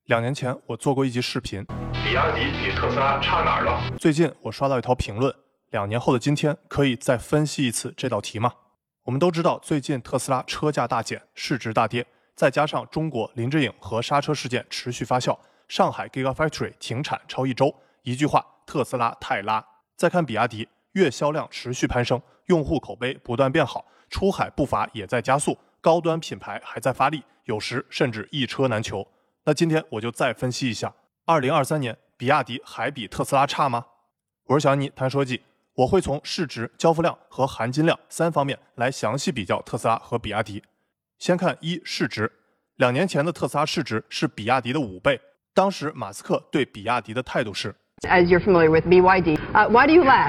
2年前我做过一集视频， 比亚迪比特斯拉差哪儿了？ 最近我刷到一条评论，2年后的今天可以再分析一次这道题吗？我们都知道，最近特斯拉车价大减，市值大跌，再加上中国林志颖和刹车事件持续发酵，上海 Gigafactory 停产超1周，一句话，特斯拉太拉。再看比亚迪，月销量持续攀升，用户口碑不断变好，出海步伐也在加速，高端品牌还在发力，有时甚至一车难求。那今天我就再分析一下，2023年比亚迪还比特斯拉差吗？我是小安妮谈车技，我会从市值、交付量和含金量3方面来详细比较特斯拉和比亚迪。先看市值，2年前的特斯拉市值是比亚迪的5倍，当时马斯克对比亚迪的态度是 As you're familiar with BYD, why do you laugh?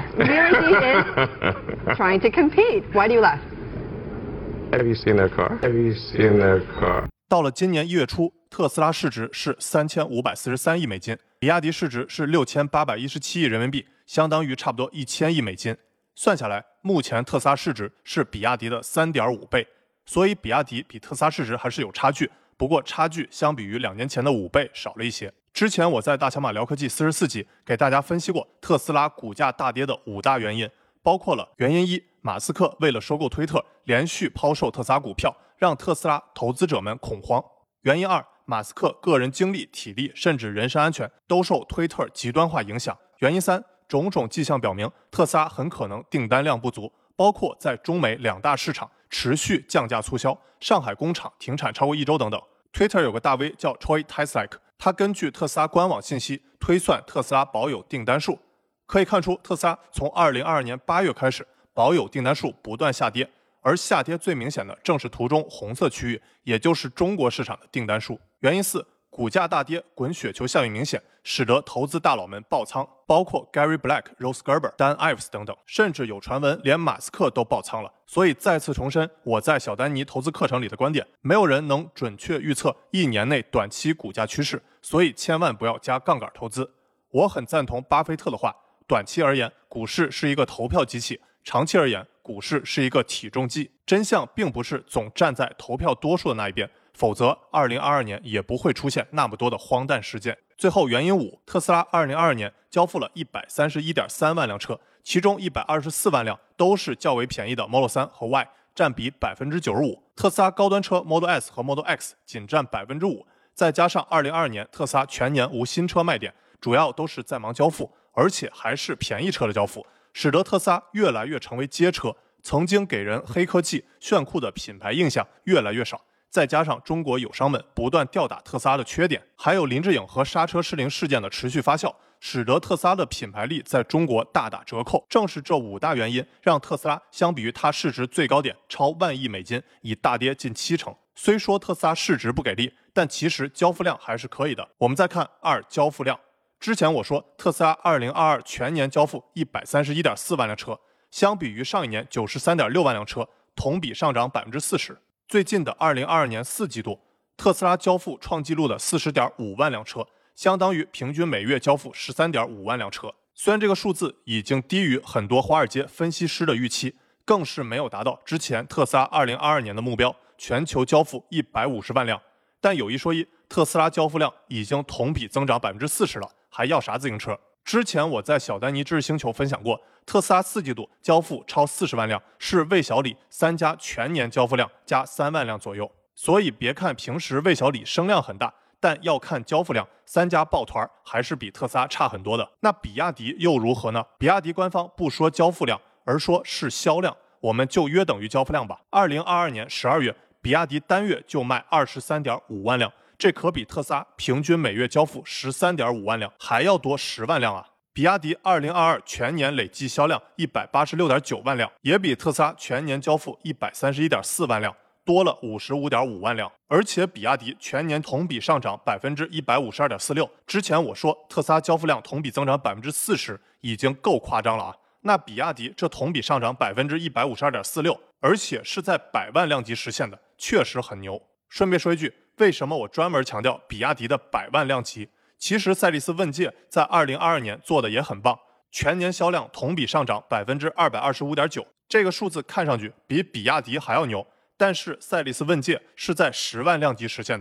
BYD is trying to compete. Why do you laugh? Have you seen their car? Have you seen their car? 到了今年1月初，特斯拉市值是3543亿美金，比亚迪市值是6817亿人民币，相当于差不多1000亿美金。算下来，目前特斯拉市值是比亚迪的3.5倍，所以比亚迪比特斯拉市值还是有差距，不过差距相比于2年前的5倍少了一些。之前我在大小马聊科技44集给大家分析过特斯拉股价大跌的5大原因，包括了原因1，马斯克为了收购推特，连续抛售特斯拉股票，让特斯拉投资者们恐慌；原因2，马斯克个人精力、体力甚至人身安全都受推特极端化影响；原因3，种种迹象表明特斯拉很可能订单量不足，包括在中美2大市场持续降价促销，上海工厂停产超过1周等等。Twitter 有个大 V 叫 Troy Teslike， 他根据特斯拉官网信息推算特斯拉保有订单数，可以看出特斯拉从2022年8月开始，保有订单数不断下跌，而下跌最明显的正是图中红色区域，也就是中国市场的订单数。原因4，股价大跌，滚雪球效应明显，使得投资大佬们爆仓，包括 Gary Black、Rose Gerber、Dan Ives 等等，甚至有传闻连马斯克都爆仓了。所以再次重申我在小丹尼投资课程里的观点，没有人能准确预测1年内短期股价趋势，所以千万不要加杠杆投资。我很赞同巴菲特的话，短期而言，股市是一个投票机器，长期而言，股市是一个体重计。真相并不是总站在投票多数的那一边，否则2022年也不会出现那么多的荒诞事件。最后原因5，特斯拉2022年交付了131.3万辆车，其中124万辆都是较为便宜的 Model 3和 Y， 占比 95%。特斯拉高端车 Model S 和 Model X 仅占 5%， 再加上2022年特斯拉全年无新车卖点，主要都是在忙交付，而且还是便宜车的交付，使得特斯拉越来越成为街车，曾经给人黑科技、炫酷的品牌印象越来越少。再加上中国友商们不断吊打特斯拉的缺点，还有林志颖和刹车失灵事件的持续发酵，使得特斯拉的品牌力在中国大打折扣。正是这5大原因，让特斯拉相比于它市值最高点超1万亿美金，已大跌近70%。虽说特斯拉市值不给力，但其实交付量还是可以的。我们再看交付量。之前我说特斯拉2022全年交付131.4万辆车，相比于上一年93.6万辆车，同比上涨 40%。最近的2022年4季度，特斯拉交付创纪录的40.5万辆车，相当于平均每月交付13.5万辆车。虽然这个数字已经低于很多华尔街分析师的预期，更是没有达到之前特斯拉2022年的目标，全球交付150万辆。但有一说一，特斯拉交付量已经同比增长 40% 了，还要啥自行车？之前我在小丹尼知识星球分享过，特斯拉4季度交付超40万辆，是魏小李3家全年交付量加3万辆左右。所以别看平时魏小李声量很大，但要看交付量，3家抱团还是比特斯拉差很多的。那比亚迪又如何呢？比亚迪官方不说交付量，而说是销量，我们就约等于交付量吧。2022年12月，比亚迪单月就卖23.5万辆。这可比特斯拉平均每月交付13.5万辆还要多10万辆啊！比亚迪2022全年累计销量186.9万辆，也比特斯拉全年交付131.4万辆多了55.5万辆。而且比亚迪全年同比上涨 152.46%。之前我说特斯拉交付量同比增长 40%已经够夸张了啊！那比亚迪这同比上涨 152.46%， 而且是在100万辆级实现的，确实很牛。顺便说一句，为什么我专门强调比亚迪的100万辆级？其实赛力斯问界在2022年做的也很棒，全年销量同比上涨 225.9%， 这个数字看上去比比亚迪还要牛，但是赛力斯问界是在10万辆级实现的，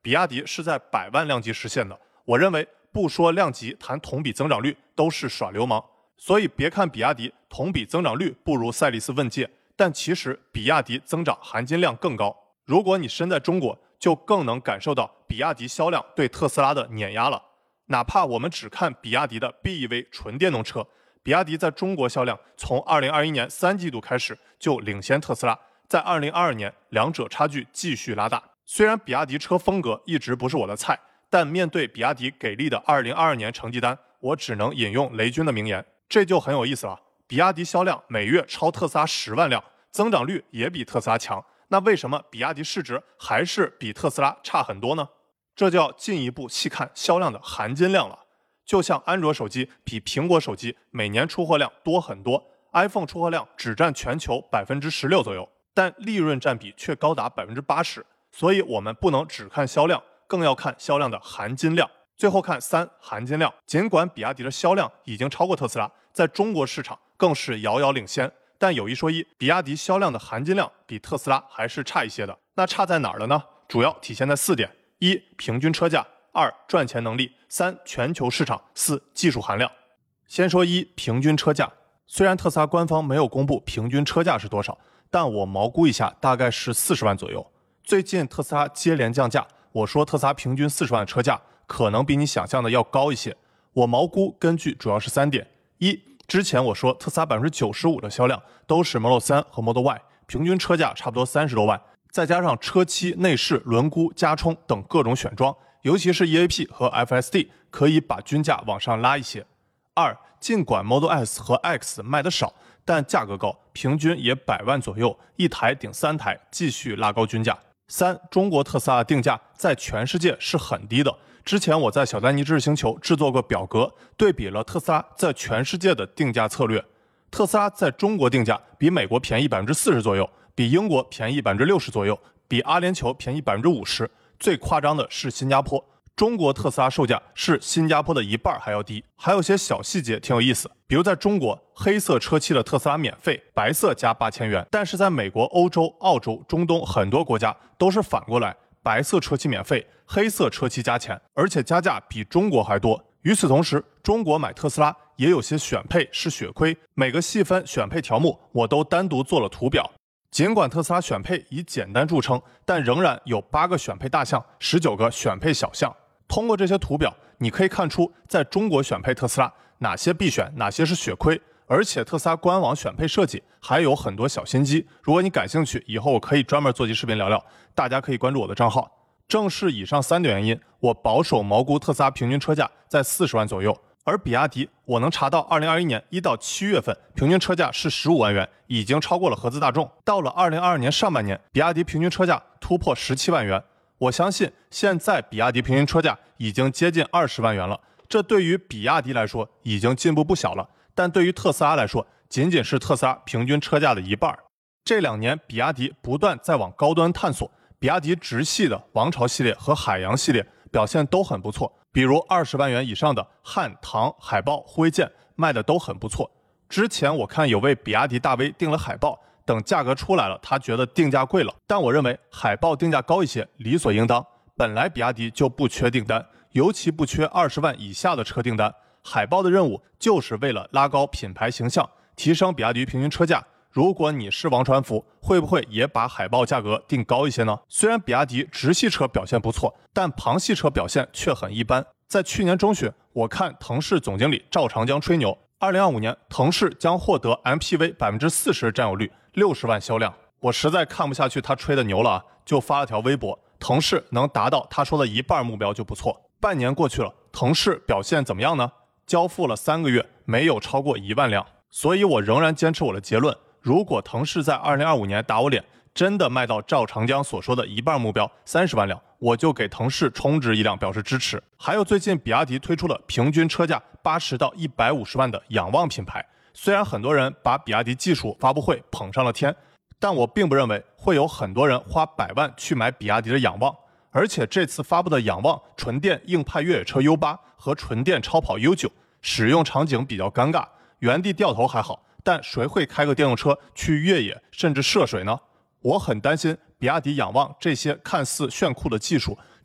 比亚迪是在100万量级实现的。我认为不说量级，谈同比增长率都是耍流氓。所以别看比亚迪同比增长率不如赛力斯问界，但其实比亚迪增长含金量更高。如果你身在中国，就更能感受到比亚迪销量对特斯拉的碾压了。哪怕我们只看比亚迪的 BEV 纯电动车，比亚迪在中国销量从2021年3季度开始就领先特斯拉，在2022年两者差距继续拉大。虽然比亚迪车风格一直不是我的菜，但面对比亚迪给力的2022年成绩单，我只能引用雷军的名言，这就很有意思了。比亚迪销量每月超特斯拉10万辆，增长率也比特斯拉强，那为什么比亚迪市值还是比特斯拉差很多呢？这就要进一步细看销量的含金量了。就像安卓手机比苹果手机每年出货量多很多 ，iPhone 出货量只占全球16%左右，但利润占比却高达80%。所以我们不能只看销量，更要看销量的含金量。最后看3含金量。尽管比亚迪的销量已经超过特斯拉，在中国市场更是遥遥领先，但有一说一，比亚迪销量的含金量比特斯拉还是差一些的。那差在哪儿了呢？主要体现在4点：1、平均车价；2、赚钱能力；3、全球市场；4、技术含量。先说1、平均车价。虽然特斯拉官方没有公布平均车价是多少，但我毛估一下，大概是40万左右。最近特斯拉接连降价，我说特斯拉平均40万的车价可能比你想象的要高一些。我毛估根据主要是3点：一，之前我说特斯拉95%的销量都是 Model 3和 Model Y， 平均车价差不多30多万，再加上车漆、内饰、轮毂、加冲等各种选装，尤其是 EAP 和 FSD 可以把均价往上拉一些。2，尽管 Model S 和 X 卖得少，但价格高，平均也100万左右，一台顶3台，继续拉高均价。3，中国特斯拉的定价在全世界是很低的。之前我在小丹尼知识星球制作过表格，对比了特斯拉在全世界的定价策略。特斯拉在中国定价比美国便宜40%左右，比英国便宜60%左右，比阿联酋便宜50%。最夸张的是新加坡，中国特斯拉售价是新加坡的1半还要低。还有些小细节挺有意思，比如在中国，黑色车漆的特斯拉免费，白色加8000元，但是在美国、欧洲、澳洲、中东很多国家都是反过来，白色车漆免费，黑色车漆加钱，而且加价比中国还多。与此同时，中国买特斯拉也有些选配是血亏，每个细分选配条目我都单独做了图表。尽管特斯拉选配以简单著称，但仍然有8个选配大项，19个选配小项。通过这些图表，你可以看出在中国选配特斯拉哪些必选，哪些是血亏。而且特斯拉官网选配设计还有很多小心机，如果你感兴趣，以后我可以专门做期视频聊聊，大家可以关注我的账号。正是以上3点原因，我保守毛估特斯拉平均车价在40万左右，而比亚迪我能查到2021年1到7月份平均车价是15万元，已经超过了合资大众。到了2022年上半年，比亚迪平均车价突破17万元，我相信现在比亚迪平均车价已经接近20万元了，这对于比亚迪来说已经进步不小了，但对于特斯拉来说，仅仅是特斯拉平均车价的1半。这2年比亚迪不断在往高端探索，比亚迪直系的王朝系列和海洋系列表现都很不错，比如20万元以上的汉、唐、海豹、护卫舰卖的都很不错。之前我看有位比亚迪大 V 订了海豹，等价格出来了，他觉得定价贵了，但我认为海豹定价高一些理所应当，本来比亚迪就不缺订单，尤其不缺20万以下的车订单。海豹的任务就是为了拉高品牌形象，提升比亚迪平均车价。如果你是王传福，会不会也把海豹价格定高一些呢？虽然比亚迪直系车表现不错，但旁系车表现却很一般。在去年中旬，我看腾势总经理赵长江吹牛，2025年腾势将获得 MPV 40%占有率，60万销量。我实在看不下去他吹的牛了，就发了条微博，腾势能达到他说的1半目标就不错。半年过去了，腾势表现怎么样呢？交付了3个月，没有超过1万辆。所以我仍然坚持我的结论，如果腾势在2025年打我脸，真的卖到赵长江所说的1半目标30万辆，我就给腾势充值1辆表示支持。还有最近比亚迪推出了平均车价80到150万的仰望品牌，虽然很多人把比亚迪技术发布会捧上了天，但我并不认为会有很多人花100万去买比亚迪的仰望。而且这次发布的仰望纯电硬派越野车 U8 和纯电超跑 U9 使用场景比较尴尬，原地掉头还好，但谁会开个电动车去越野甚至涉水呢？我很担心比亚迪仰望这些看似炫酷的技术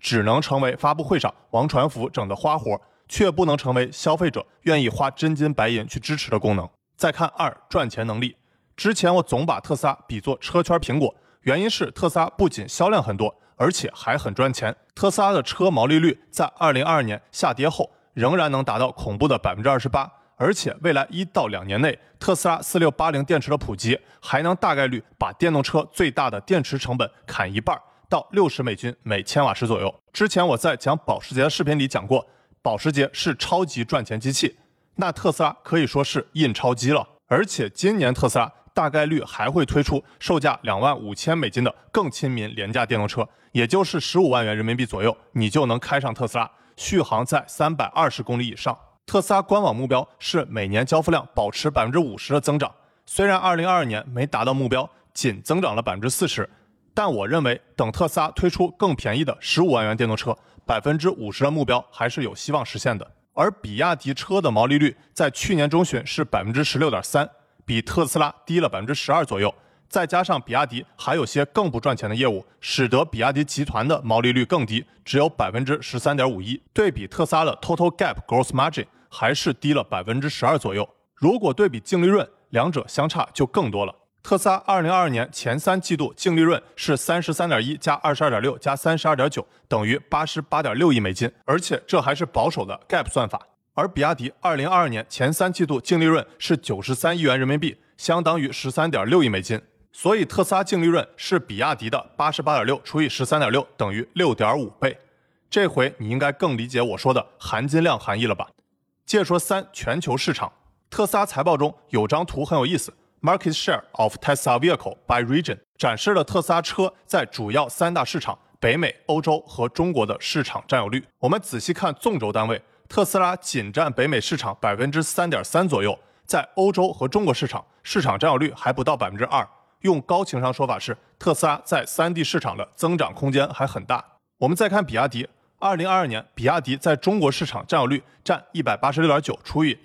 只能成为发布会上王传福整的花活，却不能成为消费者愿意花真金白银去支持的功能。再看2，赚钱能力。之前我总把特斯拉比作车圈苹果，原因是特斯拉不仅销量很多，而且还很赚钱。特斯拉的车毛利率在2022年下跌后仍然能达到恐怖的 28%， 而且未来1到2年内，特斯拉4680电池的普及还能大概率把电动车最大的电池成本砍一半，到$60每千瓦时左右。之前我在讲保时捷的视频里讲过，保时捷是超级赚钱机器，那特斯拉可以说是印钞机了。而且今年特斯拉大概率还会推出售价$25,000的更亲民廉价电动车，也就是15万元人民币左右，你就能开上特斯拉，续航在320公里以上。特斯拉官网目标是每年交付量保持 50% 的增长，虽然2022年没达到目标，仅增长了 40%， 但我认为等特斯拉推出更便宜的15万元电动车，50% 的目标还是有希望实现的。而比亚迪车的毛利率在去年中旬是 16.3%， 比特斯拉低了 12% 左右，再加上比亚迪还有些更不赚钱的业务，使得比亚迪集团的毛利率更低，只有 13.51%， 对比特斯拉的 Total Gap Gross Margin 还是低了 12% 左右。如果对比净利润，两者相差就更多了。特斯拉2022年前3季度净利润是 33.1 加 22.6 加 32.9 等于 88.6亿美金，而且这还是保守的 GAAP 算法。而比亚迪2022年前3季度净利润是93亿元人民币，相当于 13.6 亿美金。所以特斯拉净利润是比亚迪的 88.6 除以 13.6 等于 6.5 倍。这回你应该更理解我说的含金量含义了吧。接着说3，全球市场。特斯拉财报中有张图很有意思， Market Share of Tesla Vehicle by Region 展示了特斯拉车在主要3大市场北美、欧洲和中国的市场占有率。我们仔细看纵轴单位，特斯拉仅占北美市场 3.3% 左右，在欧洲和中国市场占有率还不到 2%。 用高情商说法是，特斯拉在3D 市场的增长空间还很大。我们再看比亚迪，2022年比亚迪在中国市场占有率占 186.9 除以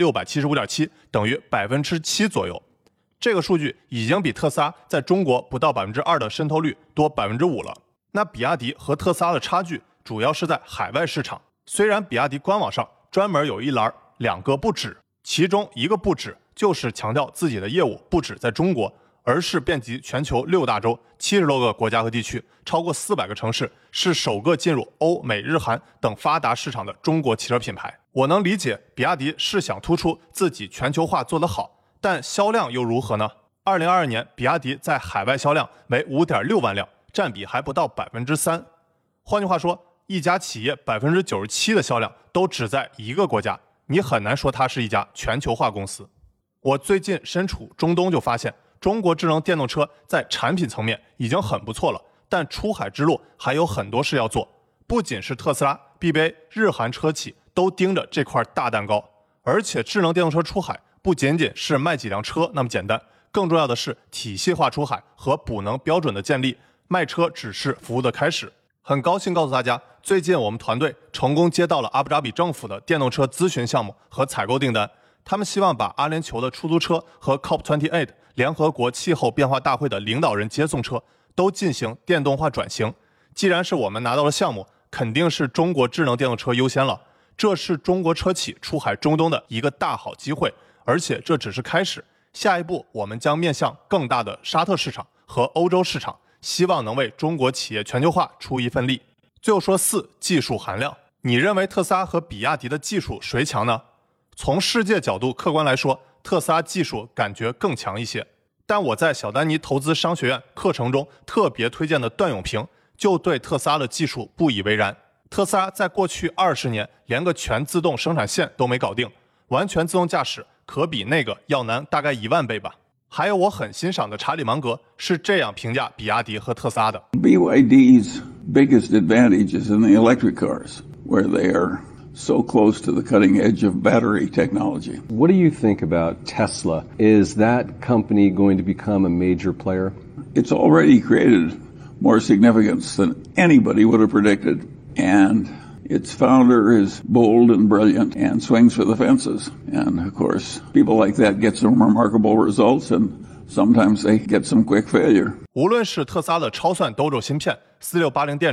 2675.7 等于 7% 左右。这个数据已经比特斯拉在中国不到 2% 的渗透率多 5% 了。那比亚迪和特斯拉的差距主要是在海外市场。虽然比亚迪官网上专门有一栏2个不止，其中一个不止就是强调自己的业务不止在中国，而是遍及全球6大洲70多个国家和地区，超过400个城市，是首个进入欧美日韩等发达市场的中国汽车品牌。我能理解比亚迪是想突出自己全球化做得好，但销量又如何呢？2022年比亚迪在海外销量为 5.6 万辆，占比还不到 3%。 换句话说，一家企业 97% 的销量都只在一个国家，你很难说它是一家全球化公司。我最近身处中东就发现，中国智能电动车在产品层面已经很不错了，但出海之路还有很多事要做。不仅是特斯拉、BBA、日韩车企都盯着这块大蛋糕，而且智能电动车出海不仅仅是卖几辆车那么简单，更重要的是体系化出海和补能标准的建立，卖车只是服务的开始。很高兴告诉大家，最近我们团队成功接到了阿布扎比政府的电动车咨询项目和采购订单。他们希望把阿联酋的出租车和 COP28 联合国气候变化大会的领导人接送车都进行电动化转型。既然是我们拿到了项目，肯定是中国智能电动车优先了。这是中国车企出海中东的一个大好机会，而且这只是开始。下一步我们将面向更大的沙特市场和欧洲市场，希望能为中国企业全球化出一份力。最后说4，技术含量。你认为特斯拉和比亚迪的技术谁强呢？从世界角度客观来说，特斯拉技术感觉更强一些。但我在小丹尼投资商学院课程中特别推荐的段永平就对特斯拉的技术不以为然。特斯拉在过去20年连个全自动生产线都没搞定，完全自动驾驶可比那个要难大概1万倍吧。还有我很欣赏的查理芒格是这样评价比亚迪和特斯拉的 BYD's biggest advantage is in the electric cars, where they are so close to the cutting edge of battery technology. What do you think about Tesla? Is that company going to become a major player? It's already created more significance than anybody would have predicted, and its founder is bold and brilliant and swings for the fences. And of course, people like that get some remarkable results, and sometimes they get some quick failure. 无论是特斯拉的超算 Dojo 芯片、4680电池、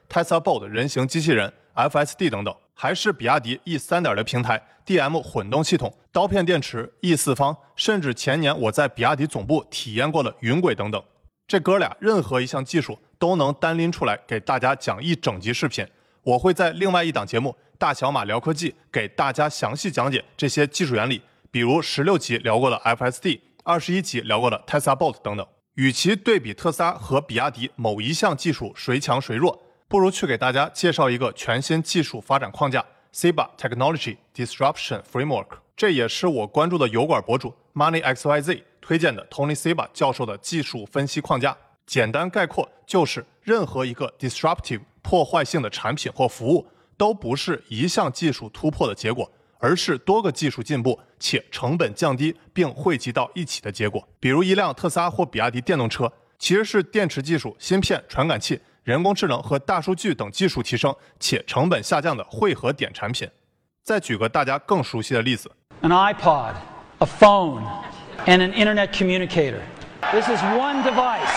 Tesla Bot 人形机器人、FSD 等等，还是比亚迪 E3.0 平台、DM 混动系统、刀片电池、E4方，甚至前年我在比亚迪总部体验过的云轨等等。这哥俩任何一项技术都能单拎出来给大家讲一整集视频，我会在另外一档节目大小马聊科技给大家详细讲解这些技术原理，比如16集聊过的 FSD， 21集聊过的 Tesla Bot 等等。与其对比特斯拉和比亚迪某一项技术谁强谁弱，不如去给大家介绍一个全新技术发展框架 CEBA Technology Disruption Framework， 这也是我关注的油管博主 MoneyXYZ 推荐的 Tony CEBA 教授的技术分析框架。简单概括就是任何一个 disruptive 破坏性的产品或服务都不是一项技术突破的结果，而是多个技术进步且成本降低并汇集到一起的结果。比如一辆特斯拉或比亚迪电动车其实是电池技术、芯片、传感器、人工智能和大数据等技术提升且成本下降的汇合点产品。再举个大家更熟悉的例子， An iPod, a phone, and an internet communicator. This is one device,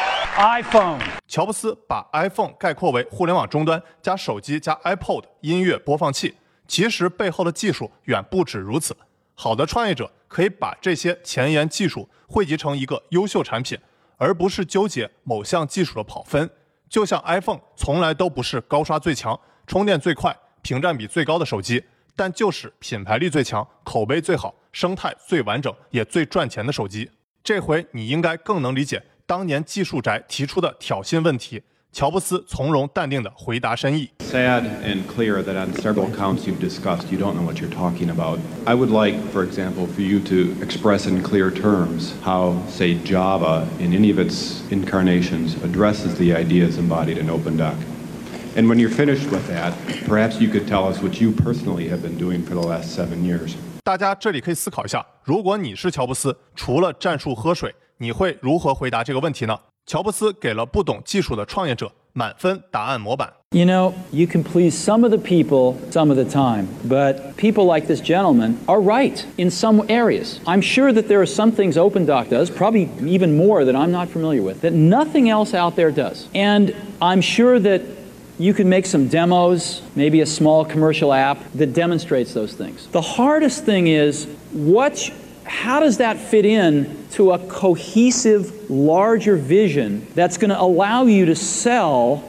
iPhone. 乔布斯把 iPhone 概括为互联网终端加手机加 iPod 音乐播放器，其实背后的技术远不止如此。好的创业者可以把这些前沿技术汇集成一个优秀产品，而不是纠结某项技术的跑分。就像 iPhone 从来都不是高刷最强、充电最快、屏占比最高的手机，但就是品牌力最强、口碑最好、生态最完整也最赚钱的手机。这回你应该更能理解当年技术宅提出的挑衅问题，乔布斯从容淡定地回答深意。 Sad and clear that on several counts you've discussed, you don't know what you're talking about. I would like, for example, for you to express in clear terms how, say, Java, in any of its incarnations, addresses the ideas embodied in OpenDoc. And when you're finished with that, perhaps you could tell us what you personally have been doing for the last 7 years. 大家这里可以思考一下，如果你是乔布斯，除了战术喝水，你会如何回答这个问题呢？乔布斯给了不懂技术的创业者满分答案模板。 You know, you can please some of the people some of the time, but people like this gentleman are right in some areas. I'm sure that there are some things OpenDoc does, probably even more that I'm not familiar with, that nothing else out there does. And I'm sure that you can make some demos, maybe a small commercial app that demonstrates those things. The hardest thing is how does that fit in to a cohesive, larger vision that's going to allow you to sell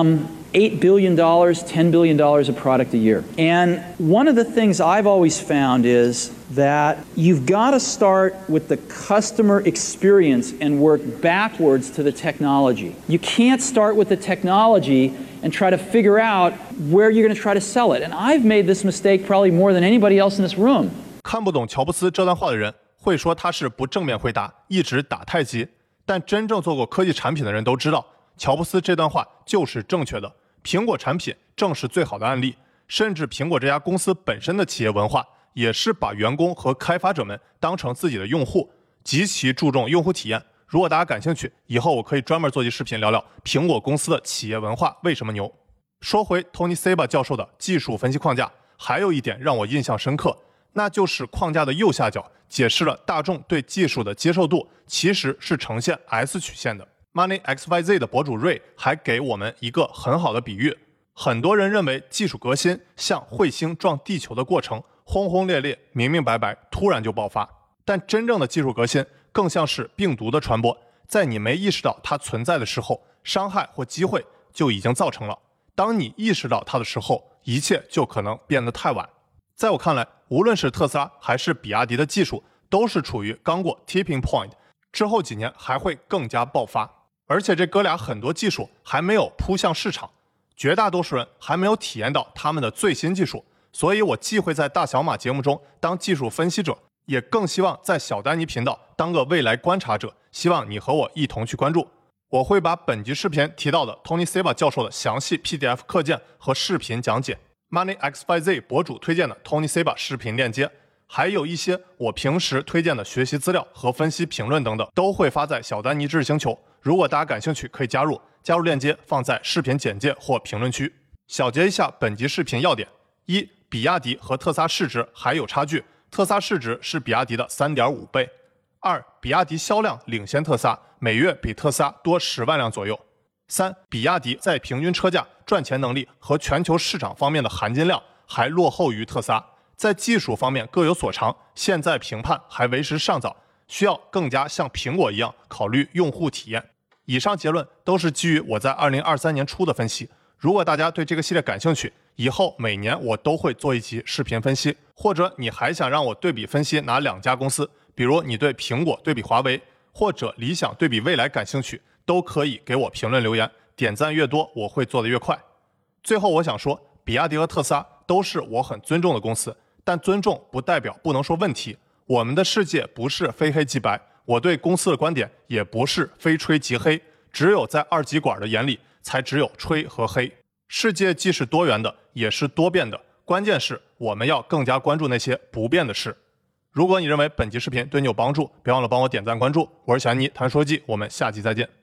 $8 billion, $10 billion of product a year? And one of the things I've always found is that you've got to start with the customer experience and work backwards to the technology. You can't start with the technology and try to figure out where you're going to try to sell it. And I've made this mistake probably more than anybody else in this room. 看不懂乔布斯这段话的人会说他是不正面回答，一直打太极。但真正做过科技产品的人都知道，乔布斯这段话就是正确的。苹果产品正是最好的案例，甚至苹果这家公司本身的企业文化也是把员工和开发者们当成自己的用户，极其注重用户体验。如果大家感兴趣，以后我可以专门做期视频聊聊苹果公司的企业文化为什么牛。说回 Tony CEBA 教授的技术分析框架，还有一点让我印象深刻，那就是框架的右下角解释了大众对技术的接受度其实是呈现 S 曲线的。MoneyXYZ 的博主瑞还给我们一个很好的比喻，很多人认为技术革新像彗星撞地球的过程，轰轰烈烈、明明白白，突然就爆发。但真正的技术革新更像是病毒的传播，在你没意识到它存在的时候，伤害或机会就已经造成了。当你意识到它的时候，一切就可能变得太晚。在我看来，无论是特斯拉还是比亚迪的技术，都是处于刚过 tipping point， 之后几年还会更加爆发。而且这哥俩很多技术还没有扑向市场，绝大多数人还没有体验到他们的最新技术，所以我既会在大小马节目中当技术分析者，也更希望在小丹尼频道当个未来观察者，希望你和我一同去关注。我会把本集视频提到的 Tony CEBA 教授的详细 PDF 课件和视频讲解， MoneyXYZ 博主推荐的 Tony CEBA 视频链接，还有一些我平时推荐的学习资料和分析评论等等，都会发在小丹尼知识星球。如果大家感兴趣，可以加入链接放在视频简介或评论区。小结一下本集视频要点：一、比亚迪和特斯拉市值还有差距，特斯拉市值是比亚迪的 3.5 倍。2、比亚迪销量领先特斯拉，每月比特斯拉多10万辆左右。 3. 比亚迪在平均车价、赚钱能力和全球市场方面的含金量还落后于特斯拉，在技术方面各有所长，现在评判还为时尚早，需要更加像苹果一样考虑用户体验。以上结论都是基于我在2023年初的分析。如果大家对这个系列感兴趣，以后每年我都会做一期视频分析，或者你还想让我对比分析哪2家公司，比如你对苹果对比华为，或者理想对比蔚来感兴趣，都可以给我评论留言，点赞越多我会做得越快。最后我想说，比亚迪和特斯拉都是我很尊重的公司，但尊重不代表不能说问题。我们的世界不是非黑即白，我对公司的观点也不是非吹即黑，只有在二极管的眼里才只有吹和黑。世界既是多元的，也是多变的，关键是我们要更加关注那些不变的事。如果你认为本期视频对你有帮助，别忘了帮我点赞关注。我是小安妮谈说记，我们下期再见。